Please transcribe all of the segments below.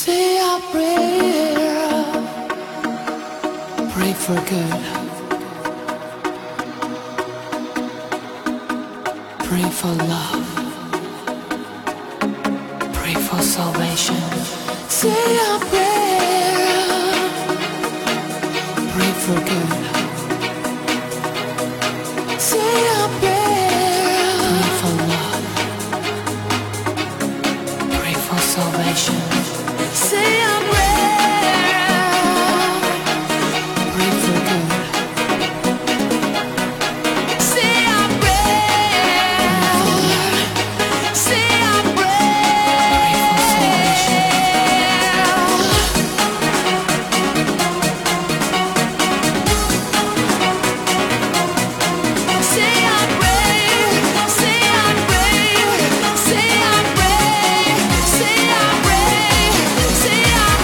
Say a prayer, pray for good, pray for love, pray for salvation. Say a prayer, pray for good. Say a prayer, pray for love, pray for salvation. Say a prayer, pray for good. Say a prayer, say a prayer, say a prayer, say a prayer, say a prayer, say a prayer, say a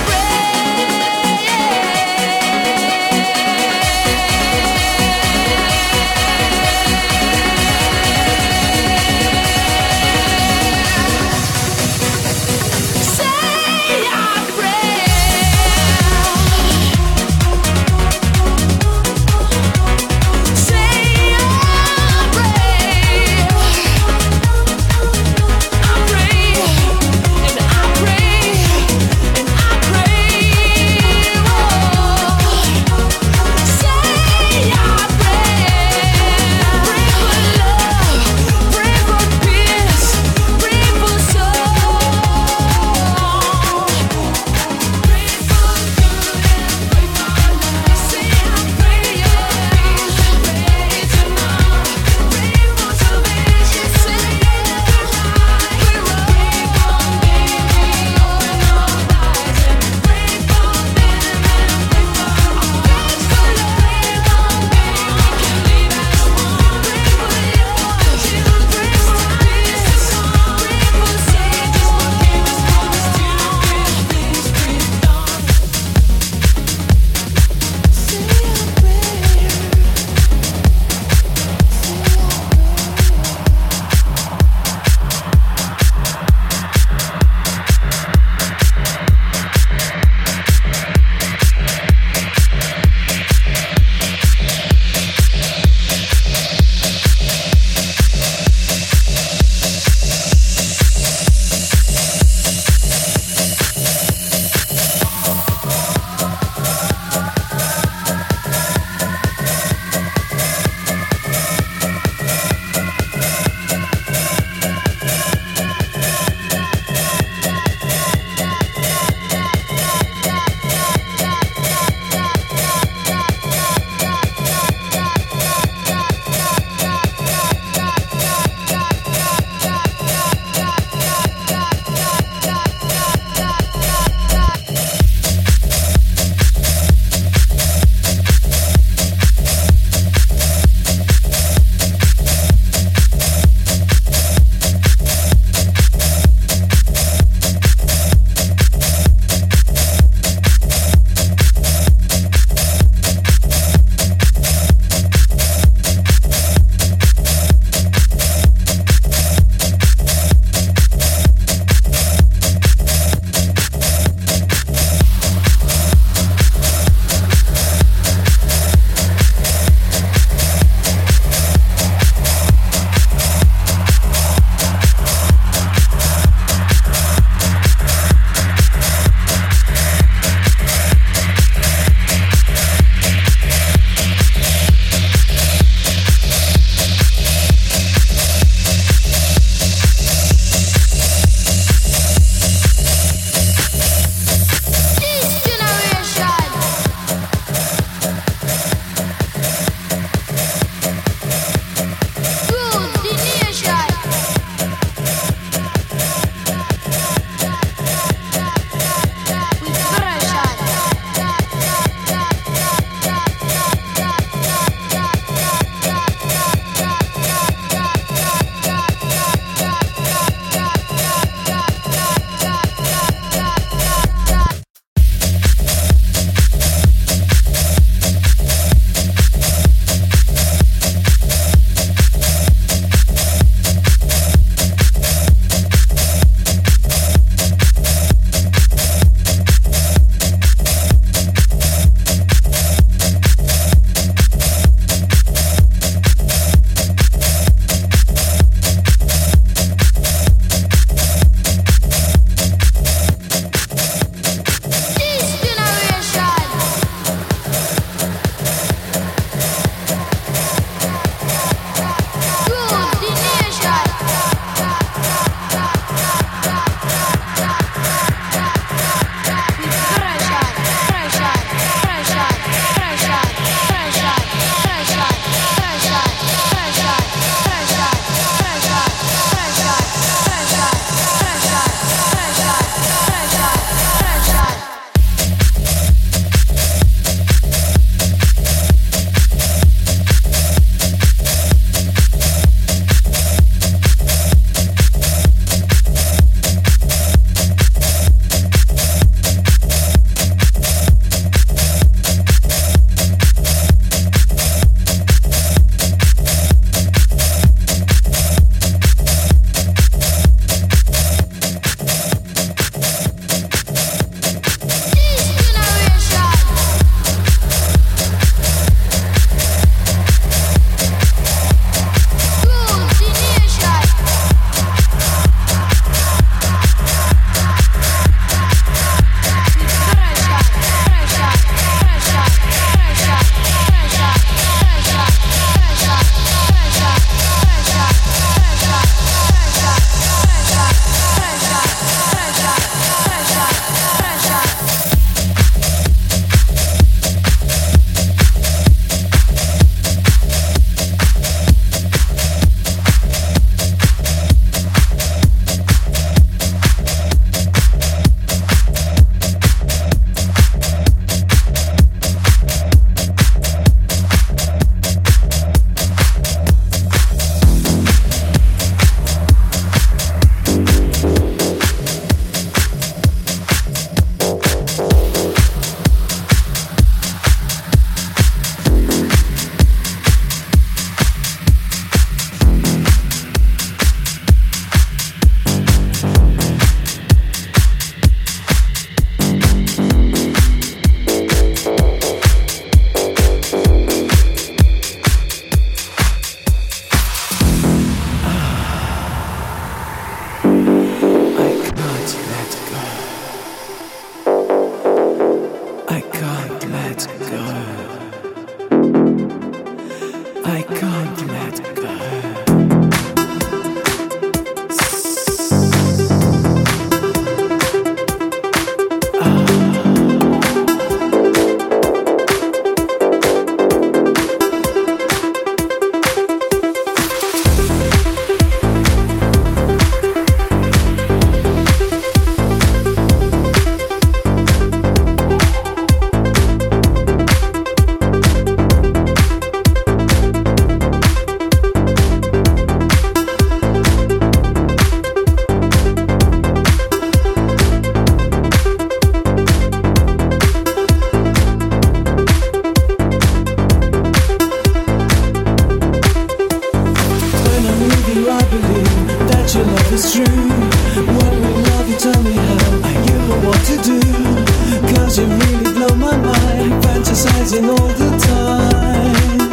tell me how, you know what to do. Cause you really blow my mind, fantasizing all the time.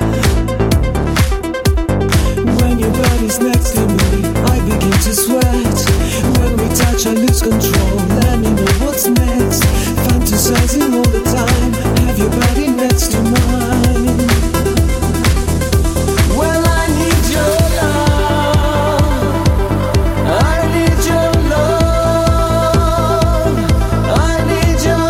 When your body's next to me, I begin to sweat. When we touch, I lose control. Let me know what's next. Fantasizing all the time, have your body next to mine. Well, I need your love. I need your love. I need your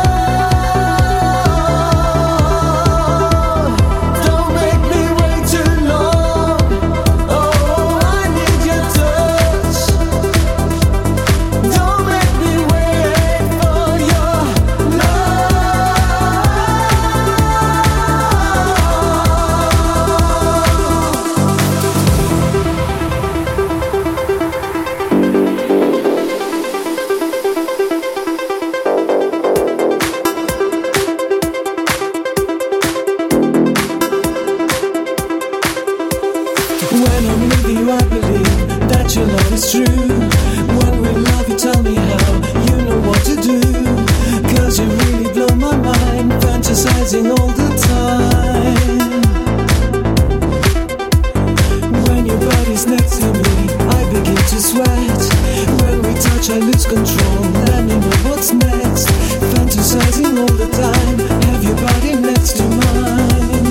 love. Don't make me wait too long. Oh, I need your touch. Don't make me wait for your when I'm with you, I believe that your love is true. When we love, you tell me how, you know what to do. Cause you really blow my mind, fantasizing all the time. When your body's next to me, I begin to sweat. When we touch, I lose control. Let me know what's next. Fantasizing all the time, have your body next to mine.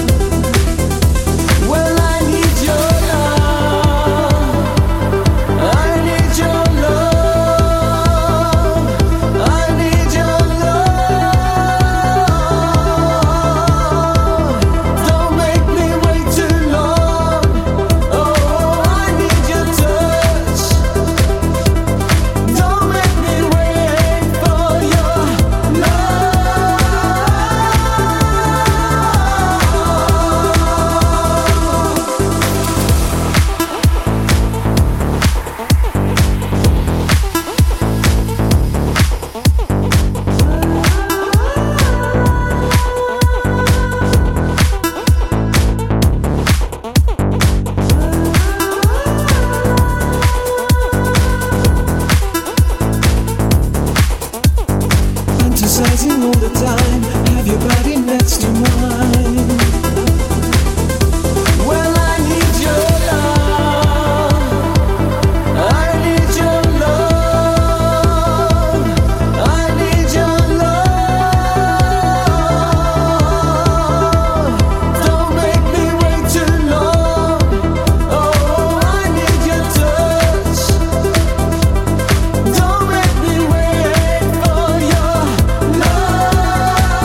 Well, I need your love. I need your love. I need your love. Don't make me wait too long. Oh, I need your touch. Don't make me wait for your fantasizing all the time, have your body next to mine. Well, I need your love. I need your love. I need your love. Don't make me wait too long. Oh, I need your touch. Don't make me wait for your love.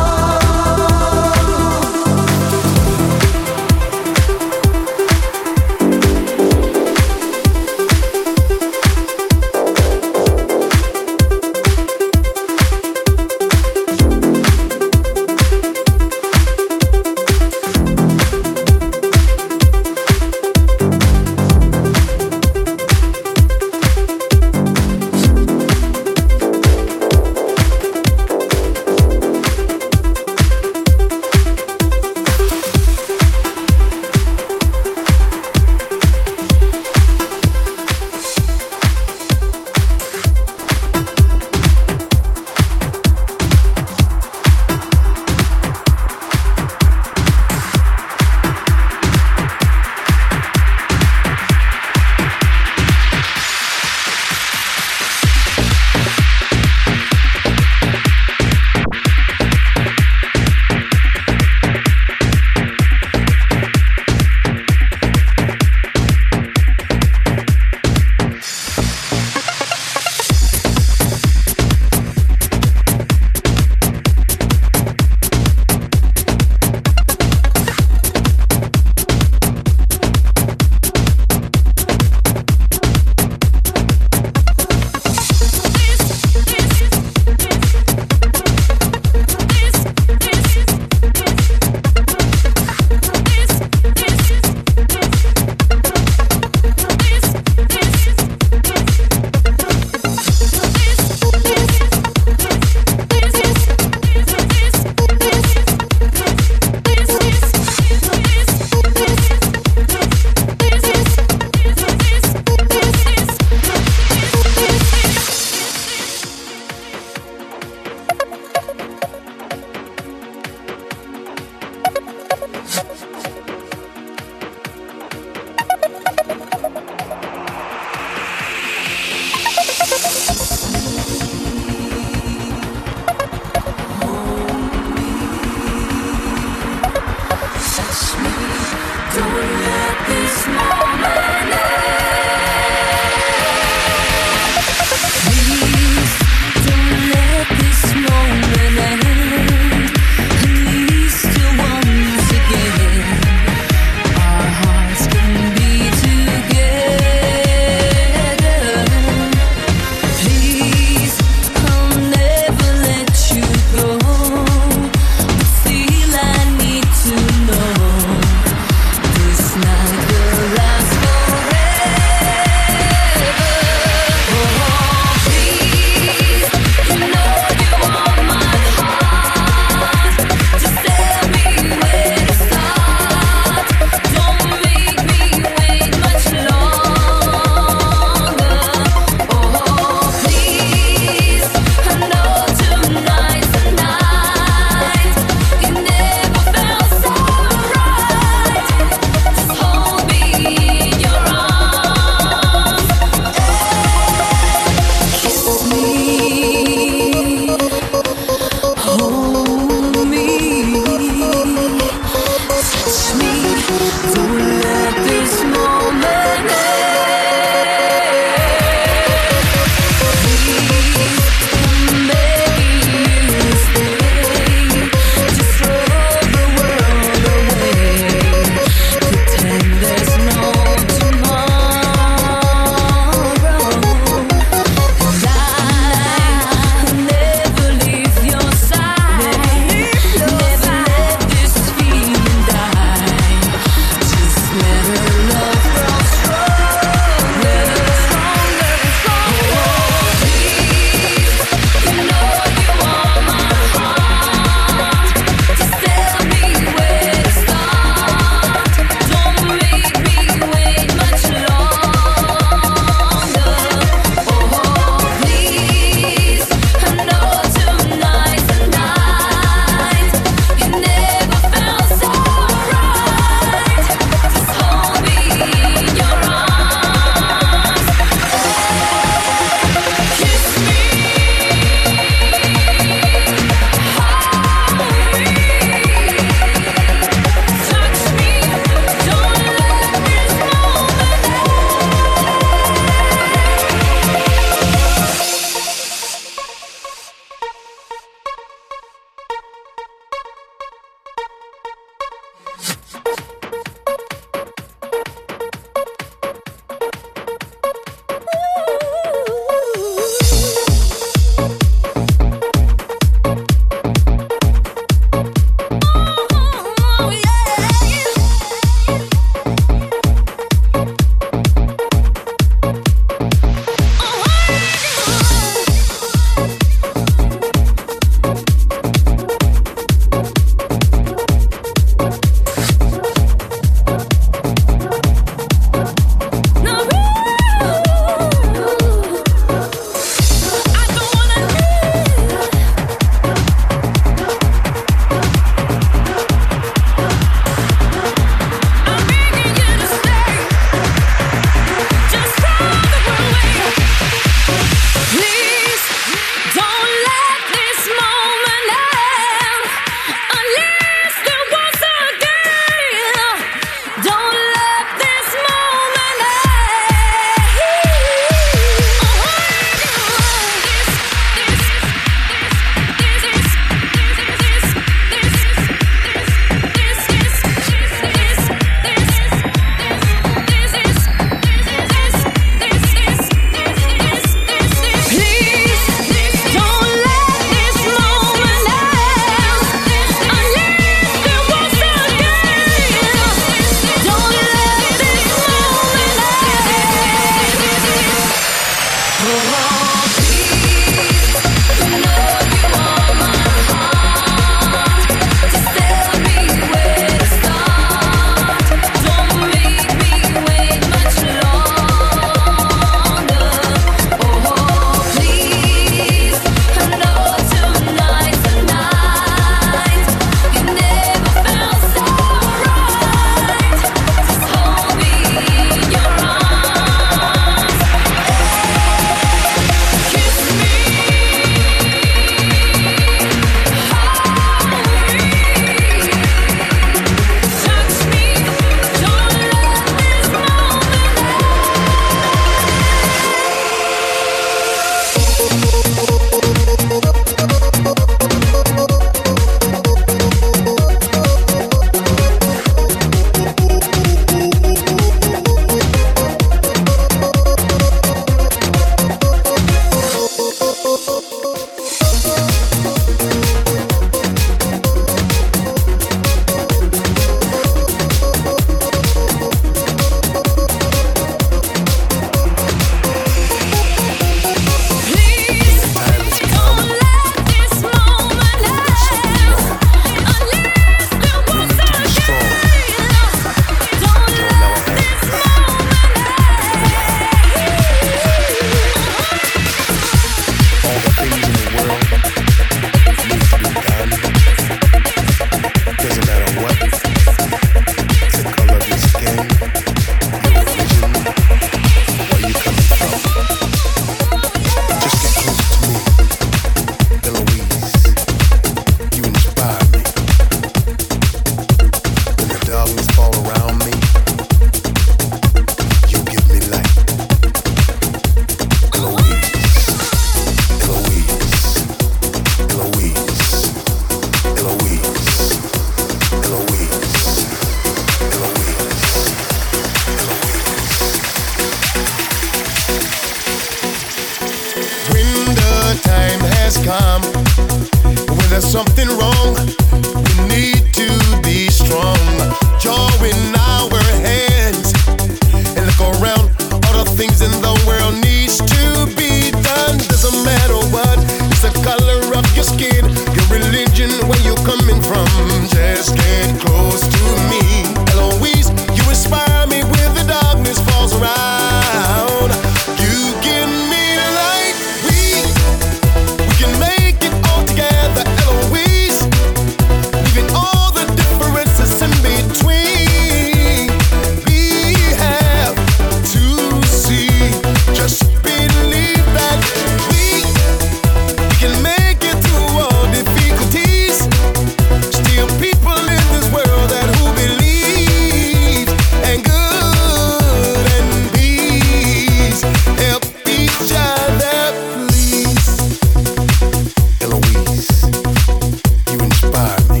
has come. When there's something wrong, we need to be strong. Joy in our hands, and look around. All the things in the world needs to be done. Doesn't matter what, it's the color of your skin, your religion, where you're coming from. Just get close to me. Eloise, you inspire me when the darkness falls around. You give me light. We can make it all together, Eloise. Leaving all the differences in between. We have to see. Just believe that we can make it through all difficulties. Still people in this world that who believe, and good and peace. Help each other, please. Eloise, you inspire me.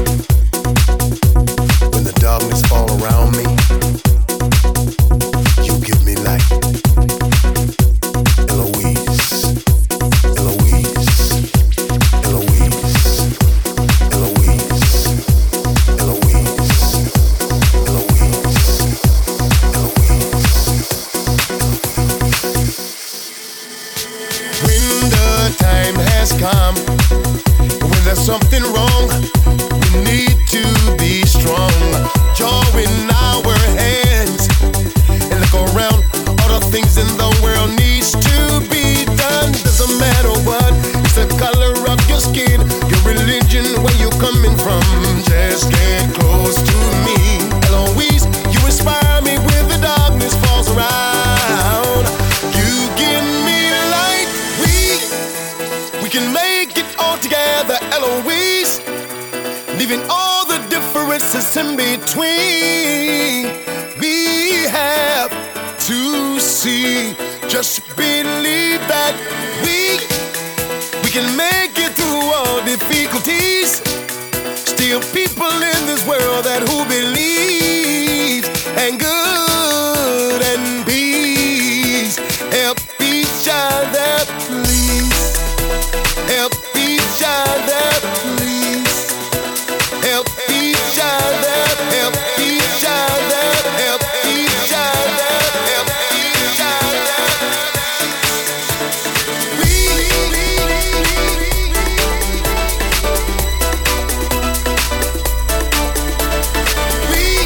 When the darkness fall around me, you give me light. Eloise, Eloise, Eloise, Eloise, Eloise, When the time has come, when there's something wrong, we need to be strong. Joy in our hands, and look around. All the things in the world needs to be done. Doesn't matter what, it's the color of your skin, your religion, where you're coming from. Just get close to me. Eloise, you inspire me when the darkness falls around. You give me light. We can make it all together, Eloise. Leaving all the differences in between. We have to see. Just believe that we can make it through all difficulties. Still people in this world that who believe, and good and peace. Help each other, please. Help each other, please. Help each other, help each other, help each other, help each other. We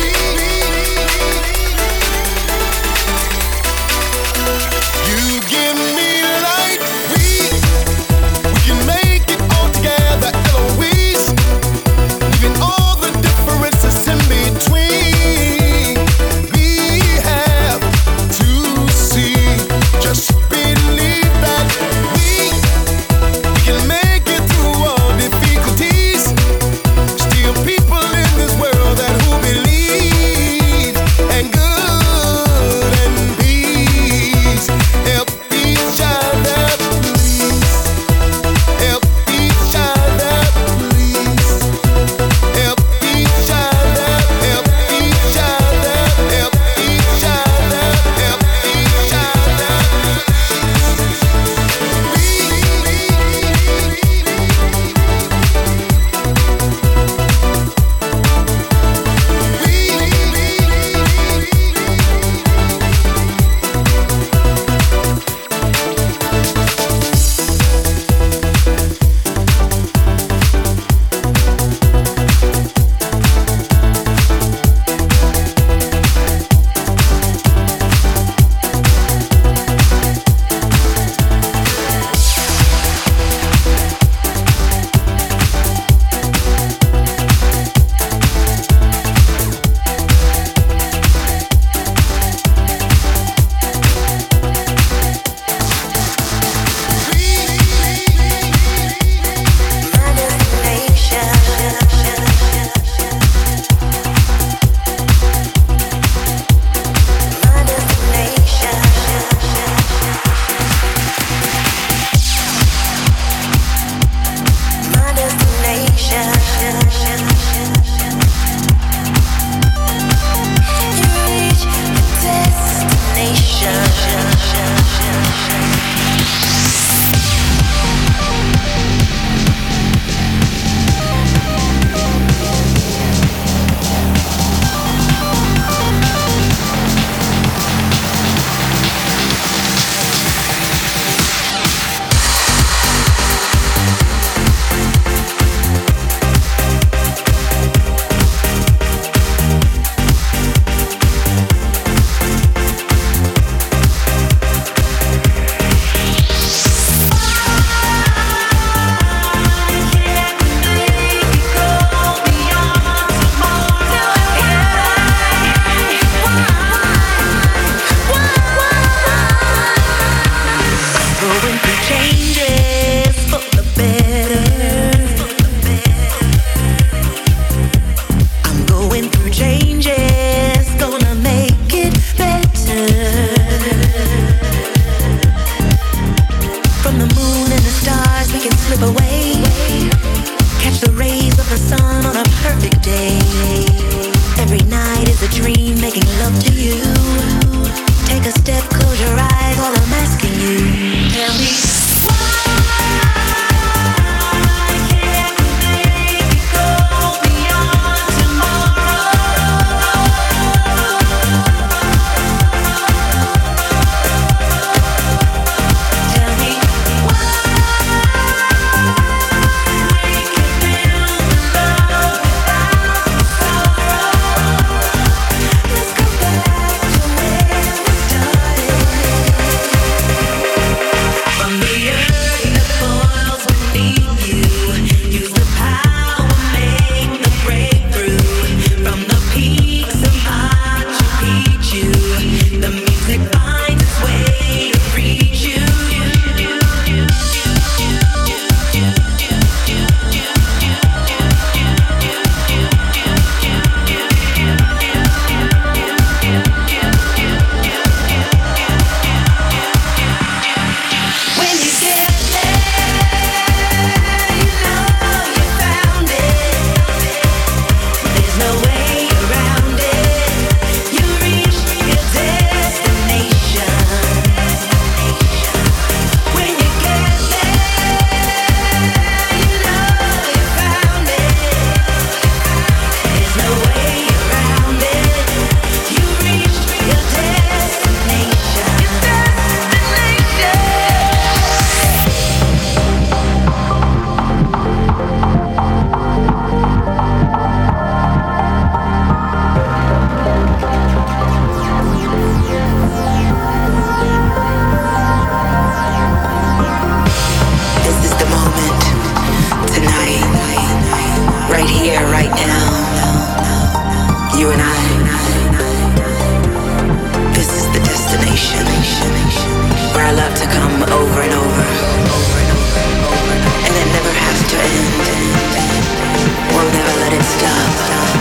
over and over, and it never has to end. We'll never let it stop.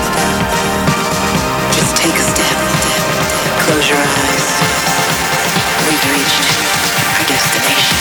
Just take a step, close your eyes. We've reached our destination.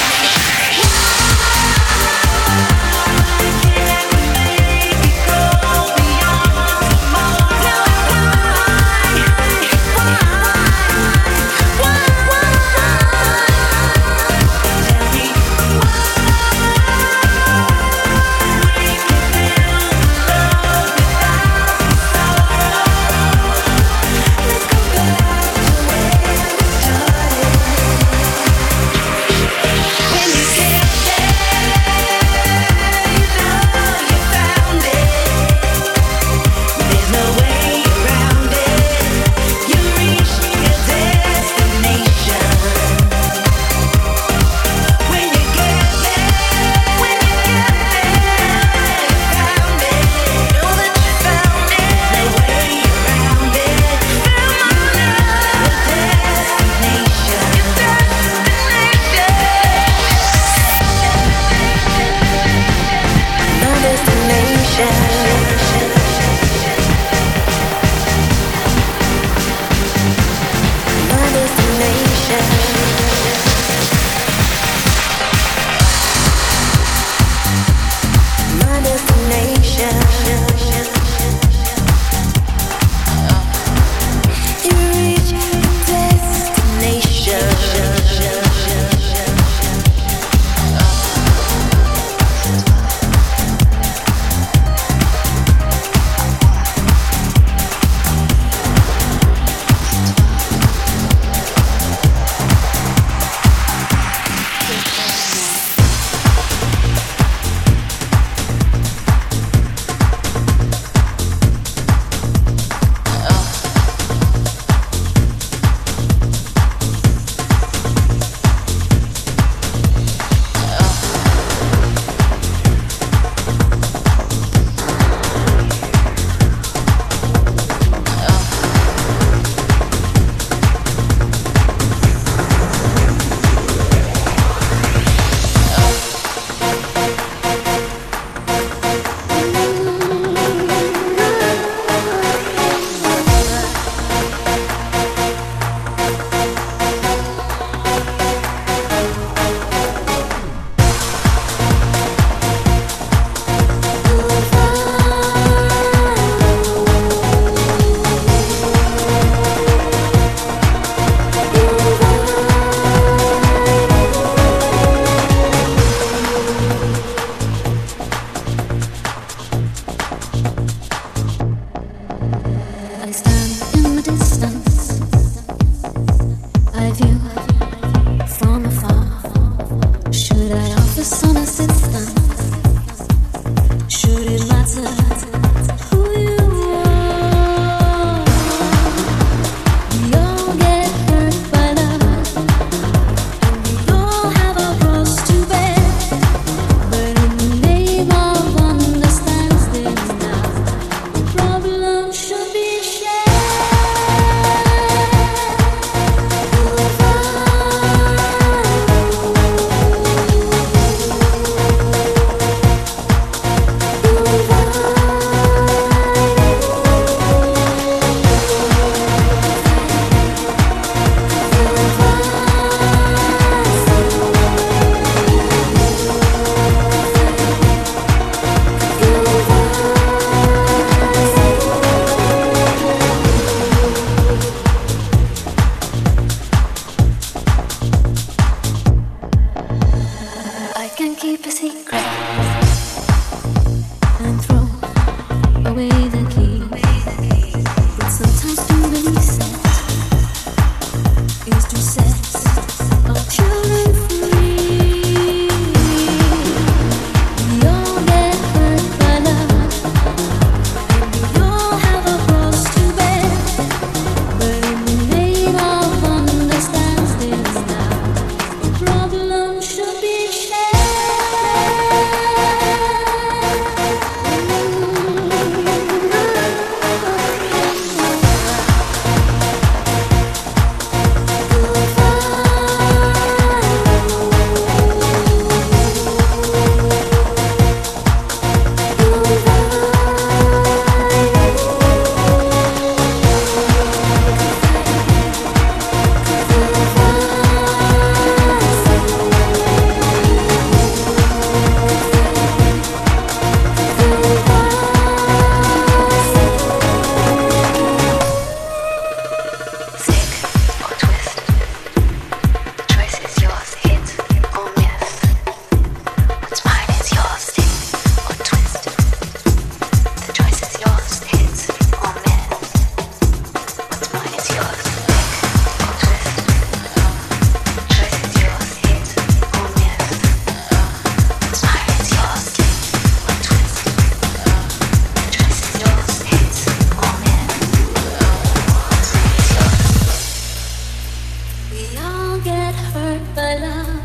my love,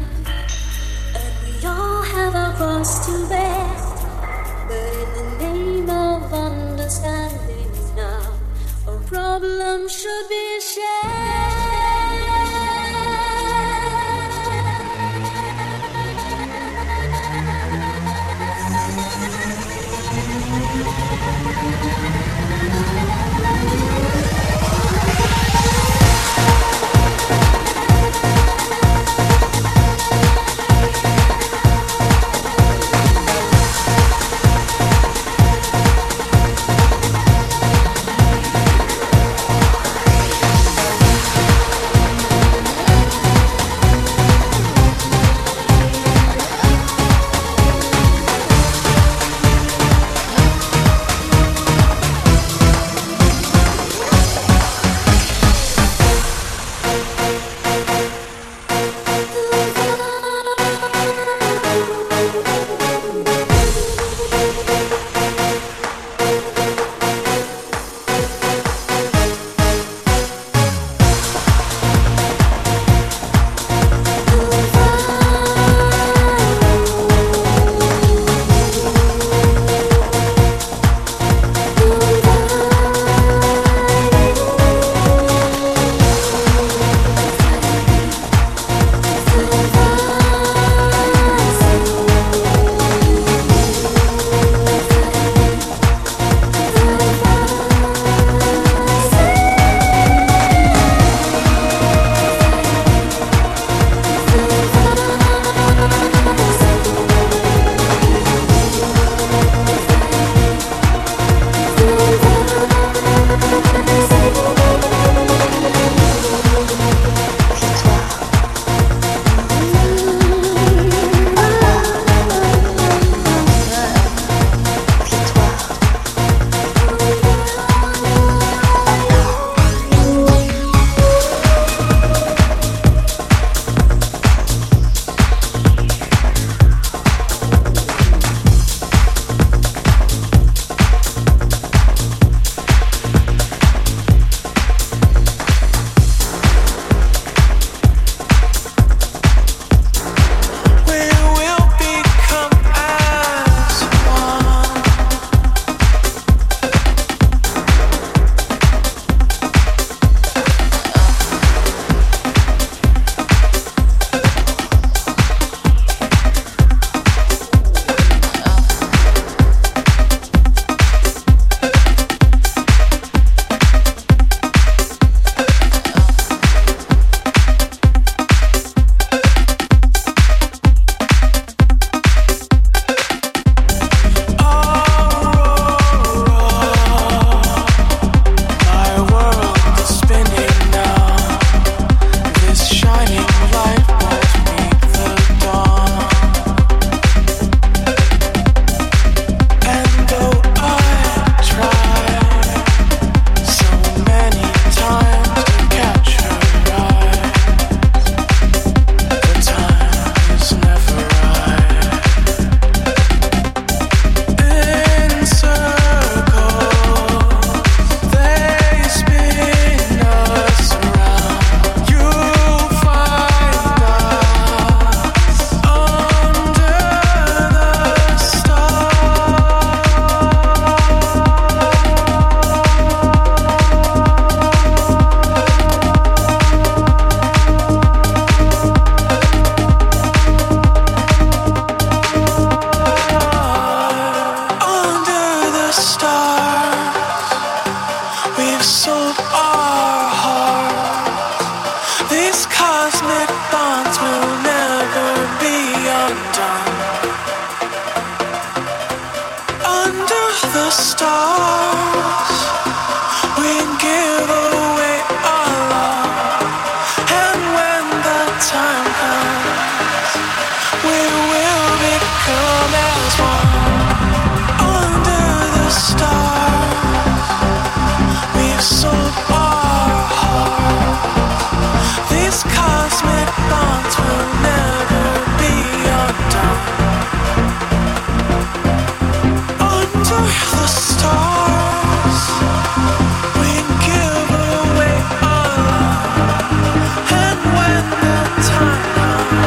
and we all have our cross to bear. But in the name of understanding now, our problem should be shared. Time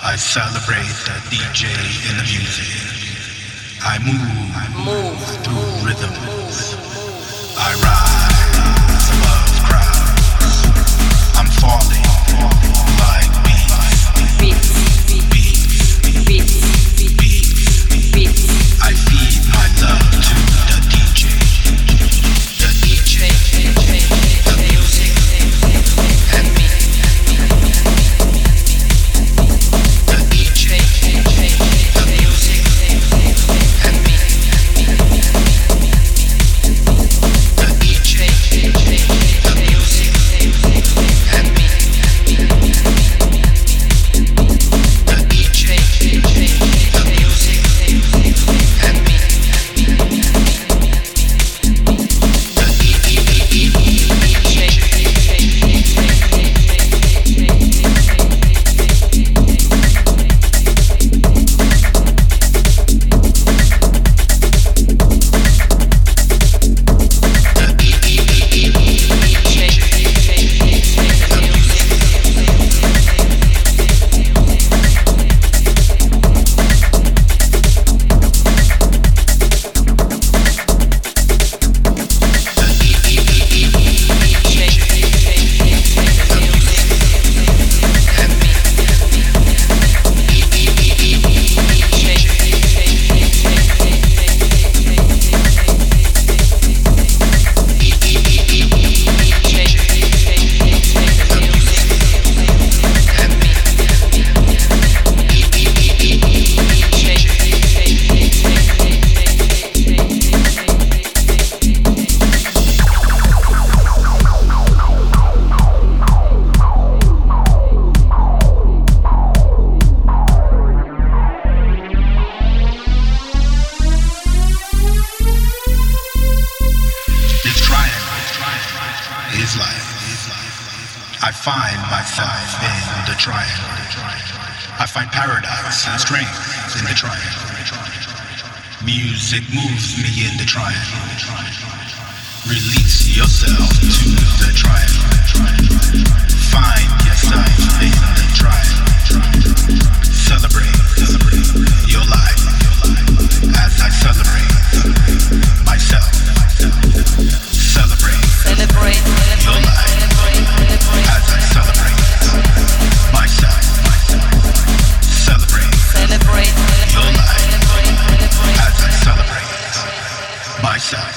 I celebrate the DJ and the music. I move through rhythms. I rise above crowds. I'm falling like beats. I feed my love to the DJ. The DJ, the music, and me. The DJ, the music, and me. The DJ, the music, and me. The DJ, the music, and me. I find myself in the triangle. I find paradise and strength in the triangle. Music moves me in the triangle. Release yourself to the triangle. Find yourself in the triangle. Celebrate your life as I celebrate myself. Celebrate your life as I celebrate myself. Celebrate your life as I celebrate myself.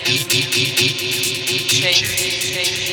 DJ.